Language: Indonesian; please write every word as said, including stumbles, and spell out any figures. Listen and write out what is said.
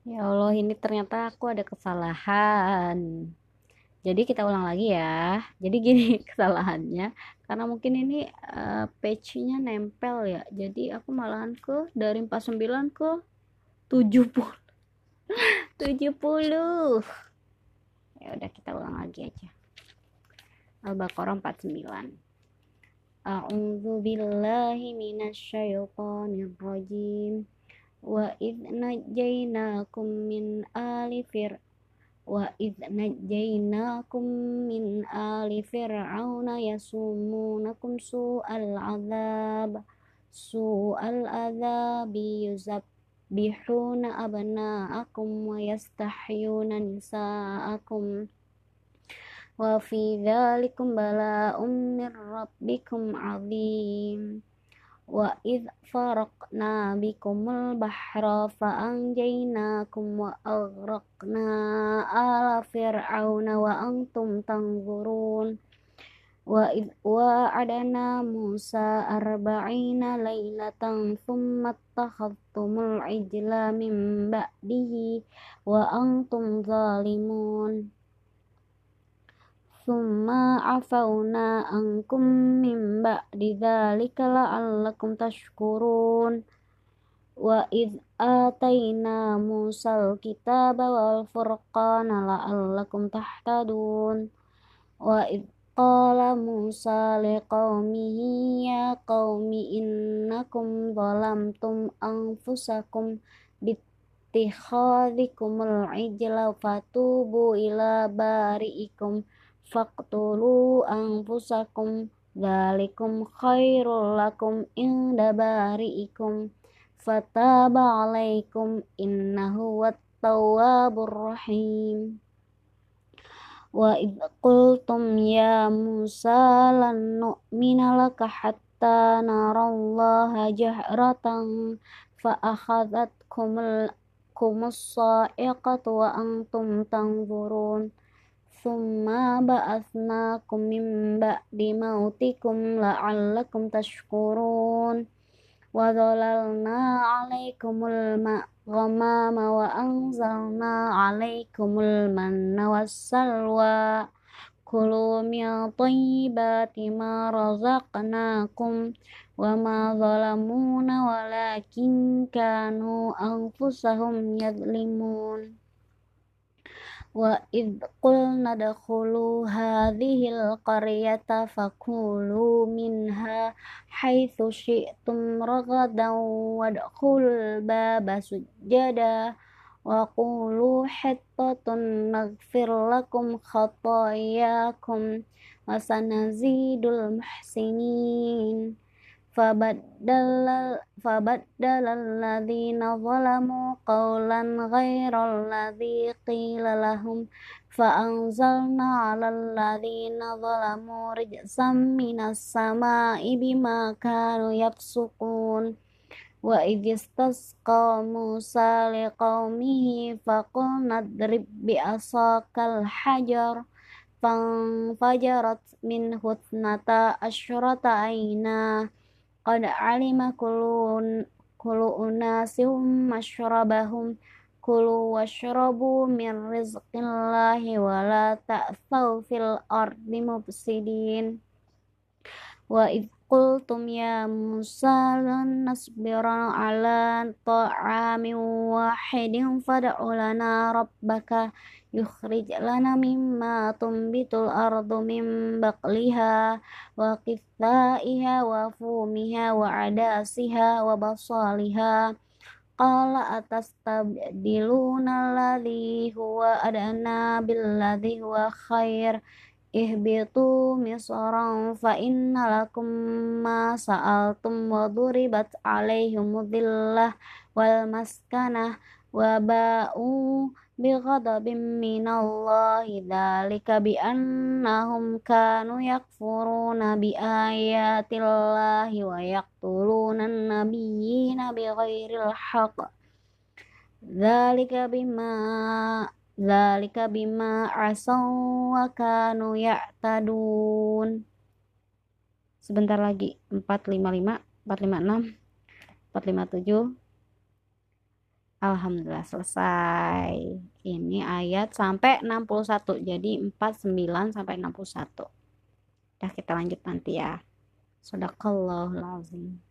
Ya Allah, ini ternyata aku ada kesalahan. Jadi kita ulang lagi ya. Jadi gini kesalahannya, karena mungkin ini eh, page-nya nempel ya. Jadi aku malahan ke dari empat puluh sembilan ke tujuh puluh. tujuh puluh. Ya udah kita ulang lagi aja. Al-Baqarah empat puluh sembilan. A'udzu billahi minasyaitonir rajim. Wa idz najjaynakum min ali fir Wa idz najjaynakum min ali fir'auna yasumunakum su'al adzab su'al adzabi yuzabbihuna abna'akum wa yastahyuna nisa'akum wa fi dzalikum bala'un mir rabbikum 'adzim. Wa idh faraqna bikumul bahra fa'anjaynakum wa aghraqna ala fir'auna wa antum tanzurun. Wa idh wa'adana Musa arba'ina laylatan thumma attakhadhtumul ijla min ba'dihi wa antum zalimun. Summa afawna ankum min ba'di dzalika la'allakum tashkurun. Wa idz atayna Musal kitaba wal furqana la'allakum tahtadun. Wa idz qala Musa liqaumihi ya qaumi innakum zalamtum anfusakum bittikhadhikumul ijla fatubu ila bari'ikum faqtulu anfusakum dzalikum khairul lakum inda bari'ikum fataba alaikum innahu wat-tawwabur rahim. Wa idh qultum ya Musa lan nu'mina laka hatta narallaha jahratan fa akhadhatkumul kumus sa'iqatu wa antum tanzurun. Summa ba'atsnakum min ba'di mautikum la'allakum tashkurun. Wa dhalalna 'alaikumul ghamama wa anzalna 'alaikumul manna wassalwa kulu min thayyibati ma razaqnakum wa ma zalamuna walakin kanu anfusahum yadhlimun. Wa idh qulna dakhulu hadhil qaryata fakulu minha haitsu syi'tum ragadan wadkhulul baba sujada wa qulu hittatun naghfir lakum khatayakum wa sanazidul muhsinin. Fabaddala fabaddalalladzina zalamu qawlan ghairal ladzi qila lahum fa'anzalna 'alalladzina zalamu rijzam minas sama'i bima kanu yafsukun. Wa idh istasqa Musa liqaumihi faqulna idrib bi'asakal hajar fanfajarat minhu ithnata asyrata 'ayna qad 'alima kullu kullu unasin mashrabahum kulu washrabu min rizqillahi wa la ta'thaw fil ardi mufsidin. Wa idh qultum ya Musa lan nasbira 'ala ta'amin wahidin fad'u lana rabbaka yukhrij lana mimma tumbitul ardu min baqliha wa qithaiha wa fumiha wa adasiha wa basaliha qala atastabdiluna alladhi huwa adna billadhi huwa khair ihbitu misran fa inna lakum ma sa'altum wa duribat alaihim dhillah wal maskanah wa ba'u bighadabin minallahi dzalika bi annahum kanu yakfuruna bi ayatillahi wa yaqtuluna an-nabiyyina bighairil haqq dzalika bima dzalika bima asaw wa kanu ya'tadun. Sebentar lagi. Empat lima lima, empat lima enam, empat lima tujuh. Alhamdulillah selesai. Ini ayat sampai enam puluh satu. Jadi empat puluh sembilan sampai enam puluh satu. Dah kita lanjut nanti ya. Shadaqallahul azim.